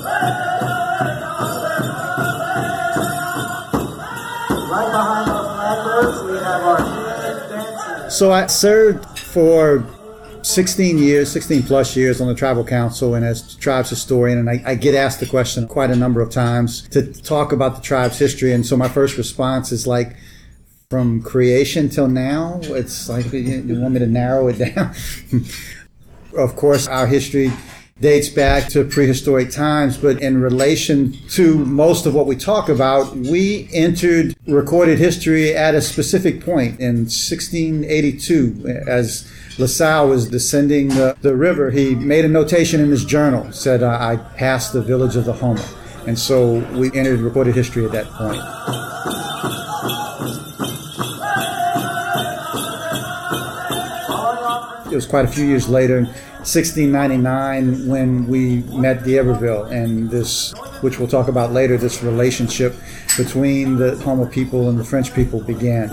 Right behind those blackbirds, we have our human dancers. So I served for 16 plus years on the tribal council and as tribes historian, and I get asked the question quite a number of times to talk about the tribe's history. And so my first response is like, from creation till now, it's like, you want me to narrow it down? Of course, our history dates back to prehistoric times, but in relation to most of what we talk about, we entered recorded history at a specific point in 1682. As La Salle was descending the river, he made a notation in his journal, said, I passed the village of the Houma. And so we entered recorded history at that point. It was quite a few years later, 1699, when we met d'Iberville, and this, which we'll talk about later, this relationship between the Houma people and the French people began.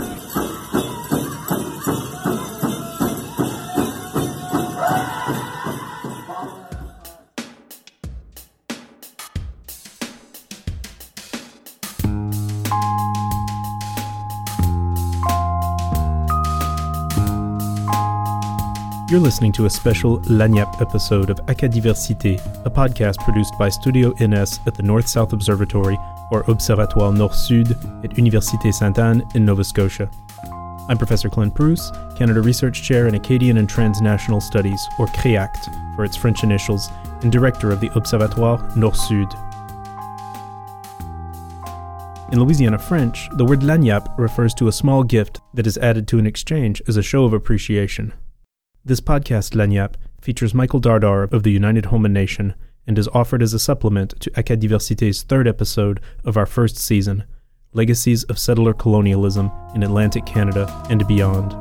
You're listening to a special Lagniappe episode of Acadiversité, a podcast produced by Studio Ines at the North-South Observatory, or Observatoire Nord-Sud, at Université Sainte-Anne in Nova Scotia. I'm Professor Clint Bruce, Canada Research Chair in Acadian and Transnational Studies, or CREACT for its French initials, and Director of the Observatoire Nord-Sud. In Louisiana French, the word lagniappe refers to a small gift that is added to an exchange as a show of appreciation. This podcast, Lagniappe, features Michael Dardar of the United Houma Nation and is offered as a supplement to Acadiversité's third episode of our first season, Legacies of Settler Colonialism in Atlantic Canada and Beyond.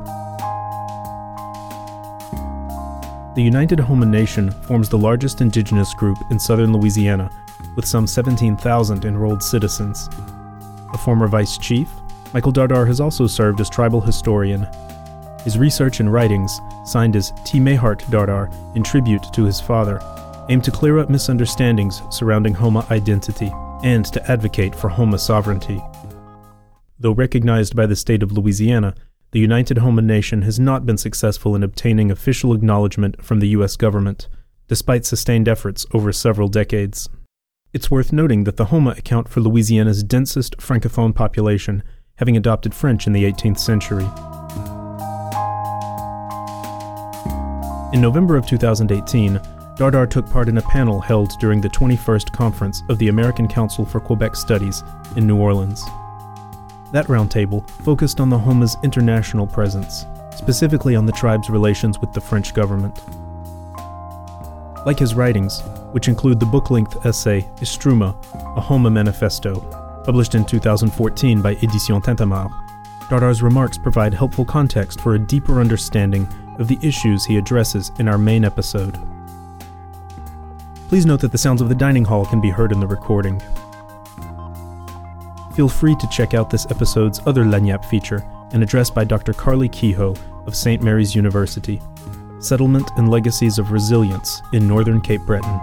The United Houma Nation forms the largest indigenous group in southern Louisiana, with some 17,000 enrolled citizens. A former vice chief, Michael Dardar has also served as tribal historian. His research and writings, signed as T. Mayhart Dardar in tribute to his father, aim to clear up misunderstandings surrounding Houma identity and to advocate for Houma sovereignty. Though recognized by the state of Louisiana, the United Houma Nation has not been successful in obtaining official acknowledgement from the U.S. government, despite sustained efforts over several decades. It's worth noting that the Houma account for Louisiana's densest francophone population, having adopted French in the 18th century. In November of 2018, Dardar took part in a panel held during the 21st Conference of the American Council for Quebec Studies in New Orleans. That roundtable focused on the Houma's international presence, specifically on the tribe's relations with the French government. Like his writings, which include the book-length essay Istruma, a Houma Manifesto, published in 2014 by Éditions Tintamarre, Dardar's remarks provide helpful context for a deeper understanding of the issues he addresses in our main episode. Please note that the sounds of the dining hall can be heard in the recording. Feel free to check out this episode's other Lagniappe feature, an address by Dr. Carly Kehoe of St. Mary's University, Settlement and Legacies of Resilience in Northern Cape Breton.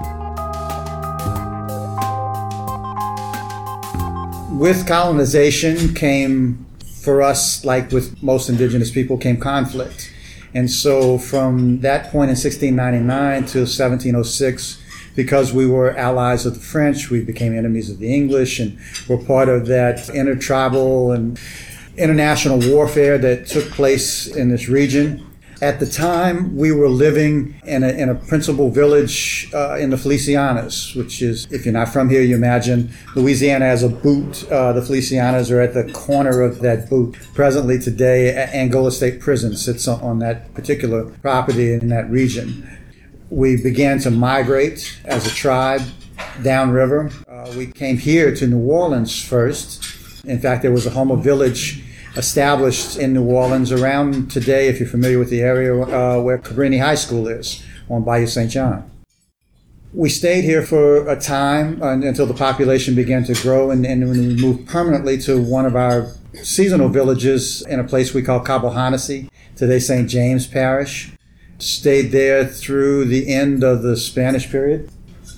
With colonization came, for us, like with most indigenous people, came conflict. And so from that point in 1699 to 1706, because we were allies of the French, we became enemies of the English and were part of that intertribal and international warfare that took place in this region. At the time, we were living in a principal village in the Felicianas, which is, if you're not from here, you imagine Louisiana as a boot. The Felicianas are at the corner of that boot. Presently today, Angola State Prison sits on that particular property in that region. We began to migrate as a tribe downriver. We came here to New Orleans first. In fact, there was a Houma village established in New Orleans around today, if you're familiar with the area, where Cabrini High School is, on Bayou St. John. We stayed here for a time until the population began to grow, and when we moved permanently to one of our seasonal villages in a place we call Cabo Hanasi, today St. James Parish. Stayed there through the end of the Spanish period.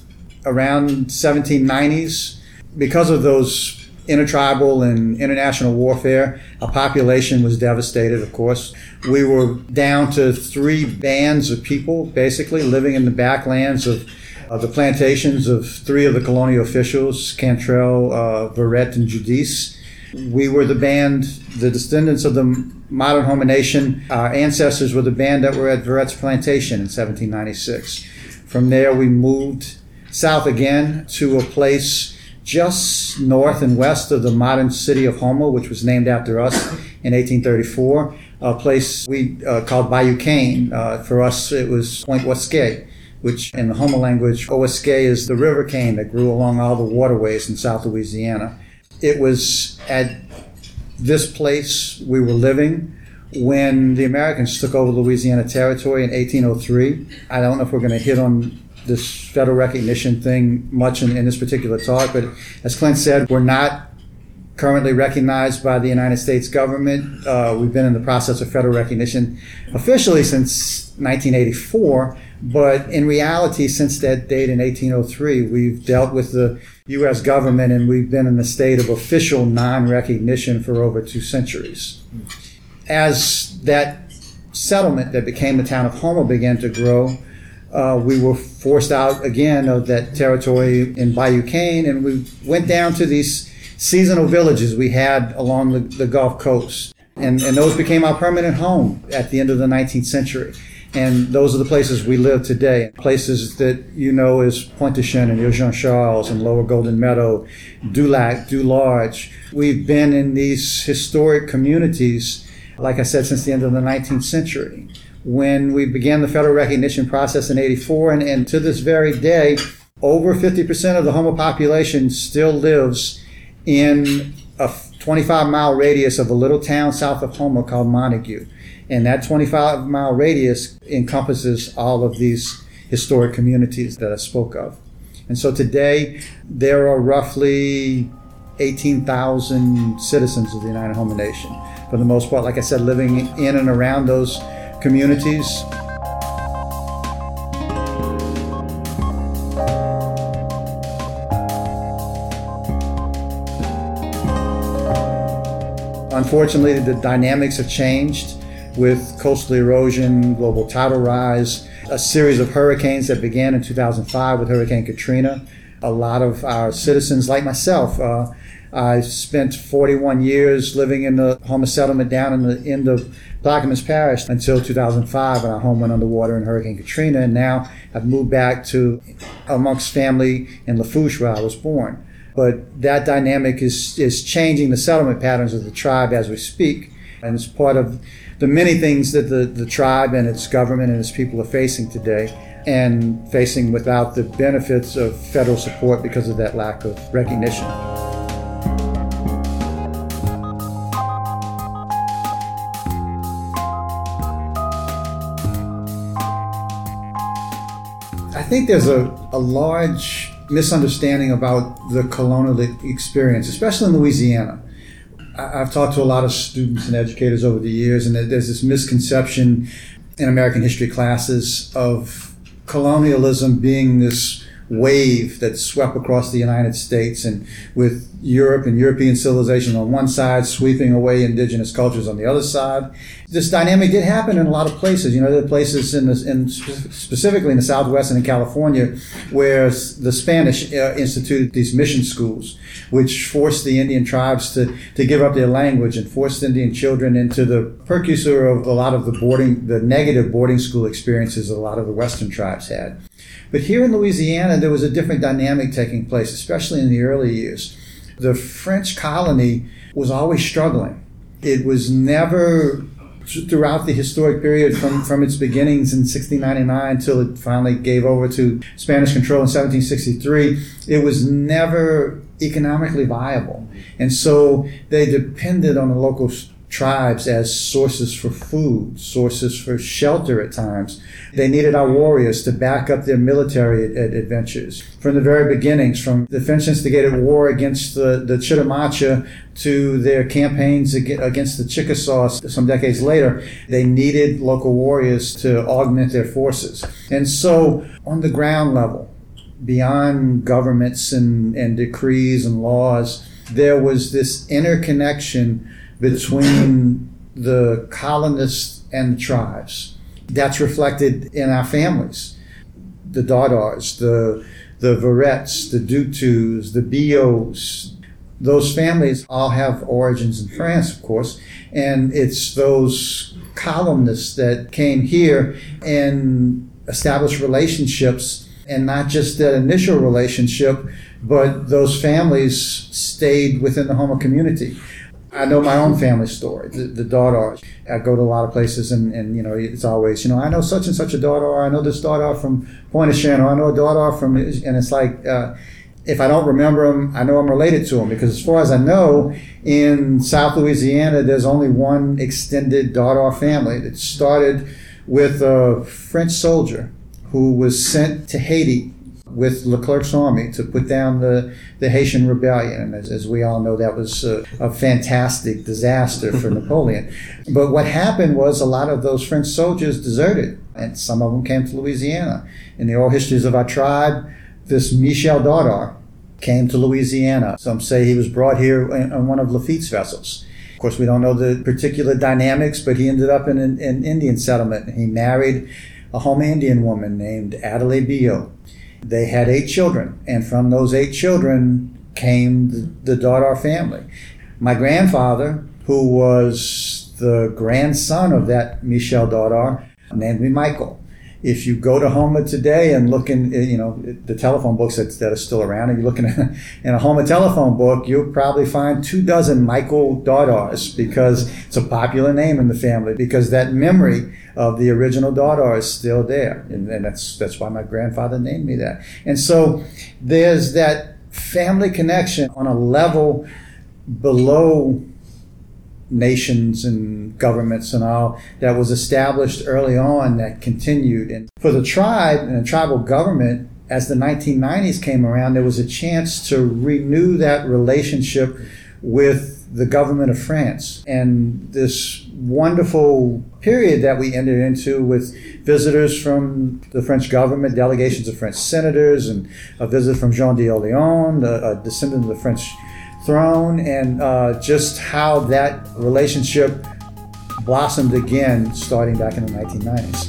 around 1790s, because of those intertribal and international warfare, our population was devastated, of course. We were down to 3 bands of people, basically, living in the backlands of the plantations of 3 of the colonial officials, Cantrell, Verret, and Giudice. We were the band, the descendants of the modern Homo nation. Our ancestors were the band that were at Verret's plantation in 1796. From there, we moved south again to a place just north and west of the modern city of Houma, which was named after us in 1834, a place we called Bayou Cane. For us, it was Point Ouaske, which in the Houma language, Ouaske is the river cane that grew along all the waterways in South Louisiana. It was at this place we were living when the Americans took over Louisiana Territory in 1803. I don't know if we're going to hit on this federal recognition thing much in this particular talk, but as Clint said, we're not currently recognized by the United States government. We've been in the process of federal recognition officially since 1984, but in reality, since that date in 1803, we've dealt with the U.S. government and we've been in a state of official non-recognition for over 2 centuries. As that settlement that became the town of Houma began to grow, we were forced out again of that territory in Bayou Cane, and we went down to these seasonal villages we had along the Gulf Coast. And those became our permanent home at the end of the 19th century. And those are the places we live today. Places that you know as Pointe-aux-Chenes and Ile-Jean-Charles and Lower Golden Meadow, Dulac, Dularge. We've been in these historic communities, like I said, since the end of the 19th century. When we began the federal recognition process in 84, and to this very day, over 50% of the Houma population still lives in a 25-mile radius of a little town south of Houma called Montague. And that 25-mile radius encompasses all of these historic communities that I spoke of. And so today, there are roughly 18,000 citizens of the United Houma Nation. For the most part, like I said, living in and around those communities. Unfortunately, the dynamics have changed with coastal erosion, global tidal rise, a series of hurricanes that began in 2005 with Hurricane Katrina. A lot of our citizens, like myself, I spent 41 years living in the Houma settlement down in the end of Plaquemines Parish until 2005 when our home went underwater in Hurricane Katrina. And now I've moved back to amongst family in Lafourche where I was born. But that dynamic is changing the settlement patterns of the tribe as we speak. And it's part of the many things that the tribe and its government and its people are facing today, and facing without the benefits of federal support because of that lack of recognition. I think there's a large misunderstanding about the colonial experience, especially in Louisiana. I've talked to a lot of students and educators over the years, and there's this misconception in American history classes of colonialism being this wave that swept across the United States, and with Europe and European civilization on one side sweeping away indigenous cultures on the other side. This dynamic did happen in a lot of places. You know, there are places specifically in the Southwest and in California where the Spanish instituted these mission schools, which forced the Indian tribes to give up their language and forced Indian children into the precursor of a lot of the negative boarding school experiences a lot of the Western tribes had. But here in Louisiana, there was a different dynamic taking place, especially in the early years. The French colony was always struggling. It was never, throughout the historic period from its beginnings in 1699 until it finally gave over to Spanish control in 1763, it was never economically viable. And so they depended on the local tribes as sources for food, sources for shelter at times. They needed our warriors to back up their military adventures. From the very beginnings, from the French instigated war against the Chitimacha to their campaigns against the Chickasaws some decades later, they needed local warriors to augment their forces. And so on the ground level, beyond governments and decrees and laws, there was this interconnection between the colonists and the tribes. That's reflected in our families. The Dardars, the Verrettes, the Dutus, the Billots, those families all have origins in France, of course, and it's those colonists that came here and established relationships, and not just that initial relationship, but those families stayed within the Houma community. I know my own family story, the Dardars. I go to a lot of places and it's always, I know such and such a Dardar, I know this Dardar from Pointe-aux-Trembles, I know a Dardar from, and it's like, if I don't remember them, I know I'm related to them, because as far as I know, in South Louisiana, there's only one extended Dardar family that started with a French soldier who was sent to Haiti with Leclerc's army to put down the Haitian rebellion. And as we all know, that was a fantastic disaster for Napoleon. But what happened was a lot of those French soldiers deserted, and some of them came to Louisiana. In the oral histories of our tribe, this Michel Dardar came to Louisiana. Some say he was brought here on one of Lafitte's vessels. Of course, we don't know the particular dynamics, but he ended up in an Indian settlement. He married a Houma Indian woman named Adelaide Billot. They had 8 children, and from those 8 children came the Dardar family. My grandfather, who was the grandson of that Michel Dardar, named me Michael. If you go to Houma today and look in, the telephone books that are still around, and you're looking in a Houma telephone book, you'll probably find 24 Michael Dardars, because it's a popular name in the family, because that memory of the original Dardar is still there. And that's why my grandfather named me that. And so there's that family connection on a level below nations and governments and all that was established early on, that continued. And for the tribe and the tribal government, as the 1990s came around, there was a chance to renew that relationship with the government of France. And this wonderful period that we entered into with visitors from the French government, delegations of French senators, and a visit from Jean d'Orléans, a descendant of the French throne, and just how that relationship blossomed again starting back in the 1990s.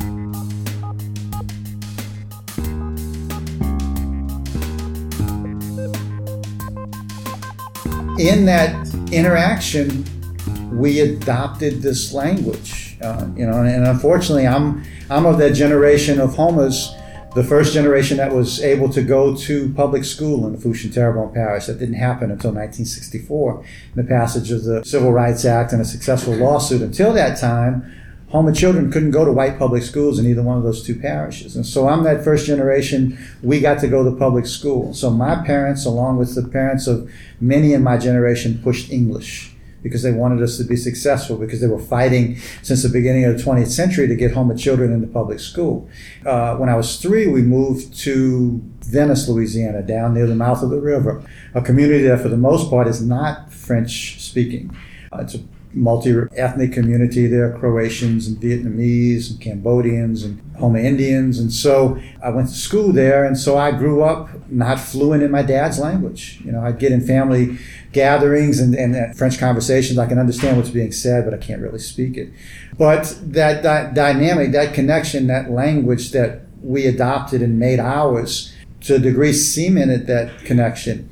In that interaction, we adopted this language, and unfortunately, I'm of that generation of Houmas, the first generation that was able to go to public school in the Fouché-en-Terrebonne parish. That didn't happen until 1964, the passage of the Civil Rights Act and a successful lawsuit. Until that time, Houma children couldn't go to white public schools in either one of those 2 parishes. And so I'm that first generation, we got to go to public school. So my parents, along with the parents of many in my generation, pushed English because they wanted us to be successful, because they were fighting since the beginning of the 20th century to get Houma children into public school. When I was 3, we moved to Venice, Louisiana, down near the mouth of the river, a community that for the most part is not French speaking. It's a multi-ethnic community. There are Croatians and Vietnamese and Cambodians and Houma Indians. And so I went to school there, and so I grew up not fluent in my dad's language. I'd get in family gatherings and French conversations. I can understand what's being said, but I can't really speak it. But that dynamic, that connection, that language that we adopted and made ours, to a degree cemented that connection.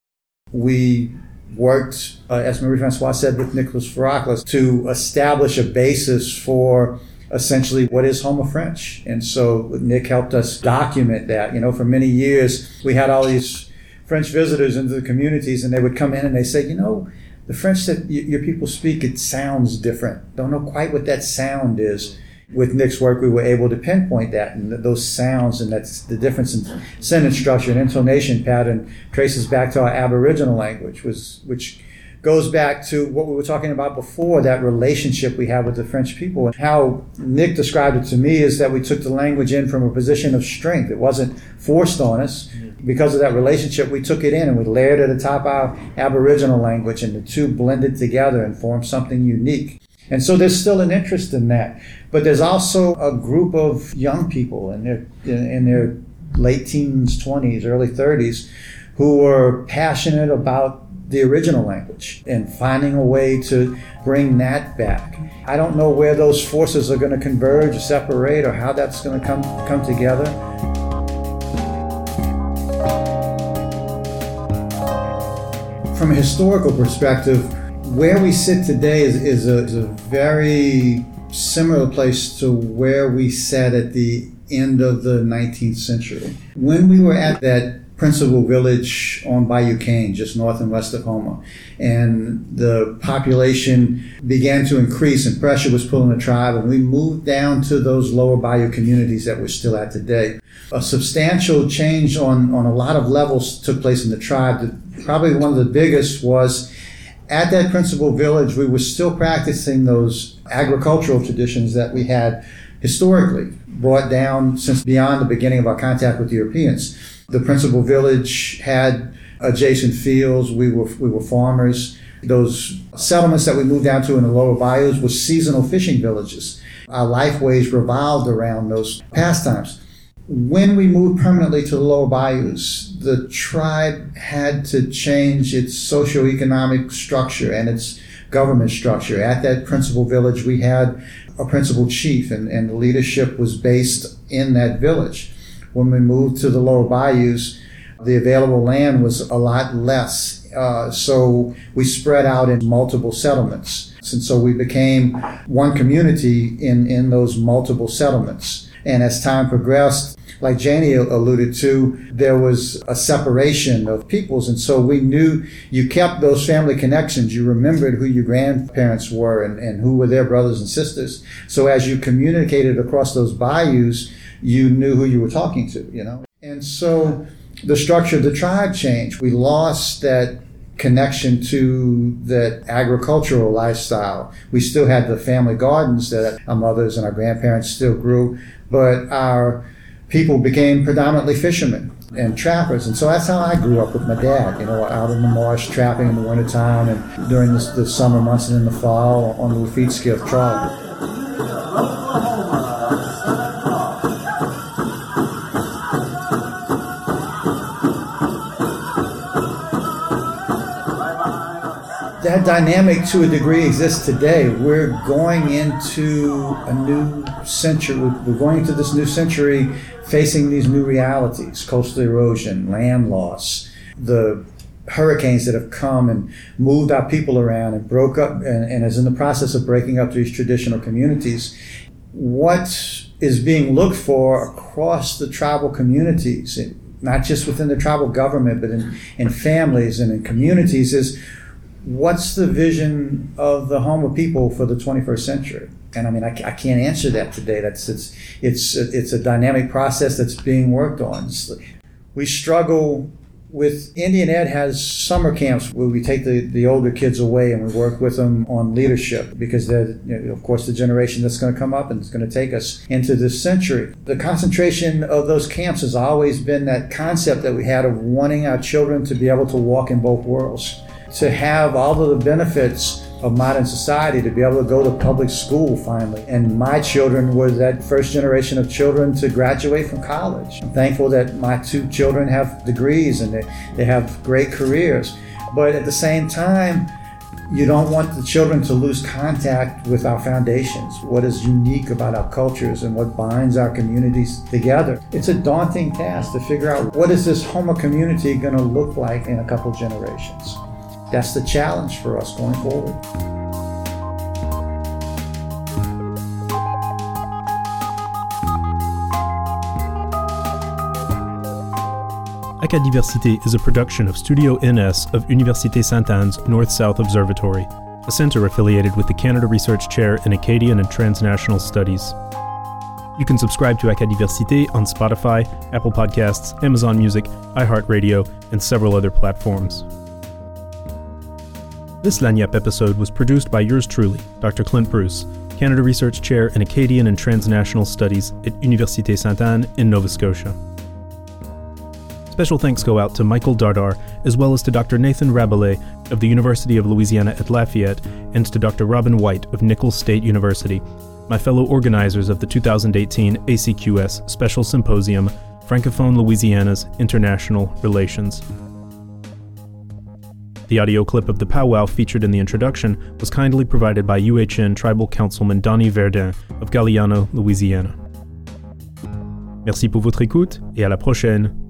We worked, as Marie-Francoise said, with Nicholas Ferraclis to establish a basis for essentially what is Houma French. And so Nick helped us document that. For many years, we had all these French visitors into the communities, and they would come in and they say, the French that your people speak, it sounds different. Don't know quite what that sound is. With Nick's work, we were able to pinpoint that, and those sounds, and that's the difference in sentence structure and intonation pattern traces back to our Aboriginal language, which goes back to what we were talking about before, that relationship we have with the French people. And how Nick described it to me is that we took the language in from a position of strength. It wasn't forced on us. Because of that relationship, we took it in and we layered it atop our Aboriginal language, and the 2 blended together and formed something unique. And so there's still an interest in that. But there's also a group of young people in their late teens, 20s, early 30s, who were passionate about the original language and finding a way to bring that back. I don't know where those forces are going to converge or separate or how that's going to come together. From a historical perspective, where we sit today is a very similar place to where we sat at the end of the 19th century. When we were at that principal village on Bayou Cane, just north and west of Houma, and the population began to increase and pressure was pulling the tribe, and we moved down to those lower bayou communities that we're still at today. A substantial change on a lot of levels took place in the tribe. Probably one of the biggest was at that principal village, we were still practicing those agricultural traditions that we had historically brought down since beyond the beginning of our contact with Europeans. The principal village had adjacent fields. We were farmers. Those settlements that we moved down to in the lower bayous were seasonal fishing villages. Our lifeways revolved around those pastimes. When we moved permanently to the lower bayous, the tribe had to change its socioeconomic structure and its government structure. At that principal village, we had a principal chief, and the leadership was based in that village. When we moved to the lower bayous, the available land was a lot less. So we spread out in multiple settlements. And so we became one community in those multiple settlements. And as time progressed, like Janie alluded to, there was a separation of peoples. And so we knew you kept those family connections. You remembered who your grandparents were and who were their brothers and sisters. So as you communicated across those bayous, you knew who you were talking to, you know. And so the structure of the tribe changed. We lost that connection to that agricultural lifestyle. We still had the family gardens that our mothers and our grandparents still grew, but our people became predominantly fishermen and trappers. And so that's how I grew up with my dad, you know, out in the marsh trapping in the wintertime and during the summer months and in the fall on the Lafitte skiff trawler. That dynamic to a degree exists today. We're going into a new century. We're going into this new century facing these new realities: coastal erosion, land loss, the hurricanes that have come and moved our people around and broke up and is in the process of breaking up these traditional communities. What is being looked for across the tribal communities, not just within the tribal government, but in families and in communities, is what's the vision of the Houma people for the 21st century? And I mean, I can't answer that today. It's a dynamic process that's being worked on. We struggle with, Indian Ed has summer camps where we take the older kids away and we work with them on leadership, because they're, you know, of course, the generation that's going to come up and it's going to take us into this century. The concentration of those camps has always been that concept that we had of wanting our children to be able to walk in both worlds, to have all of the benefits of modern society, to be able to go to public school finally. And my children were that first generation of children to graduate from college. I'm thankful that my two children have degrees and they have great careers. But at the same time, you don't want the children to lose contact with our foundations, what is unique about our cultures and what binds our communities together. It's a daunting task to figure out, what is this Houma community going to look like in a couple generations? That's the challenge for us going forward. Acadiversité is a production of Studio NS of Université Sainte-Anne's North-South Observatory, a center affiliated with the Canada Research Chair in Acadian and Transnational Studies. You can subscribe to Acadiversité on Spotify, Apple Podcasts, Amazon Music, iHeartRadio, and several other platforms. This Lagniappe episode was produced by yours truly, Dr. Clint Bruce, Canada Research Chair in Acadian and Transnational Studies at Université Sainte-Anne in Nova Scotia. Special thanks go out to Michael Dardar, as well as to Dr. Nathan Rabelais of the University of Louisiana at Lafayette, and to Dr. Robin White of Nicholls State University, my fellow organizers of the 2018 ACQS Special Symposium, Francophone Louisiana's international relations. The audio clip of the powwow featured in the introduction was kindly provided by UHN Tribal Councilman Donnie Verdun of Galliano, Louisiana. Merci pour votre écoute et à la prochaine.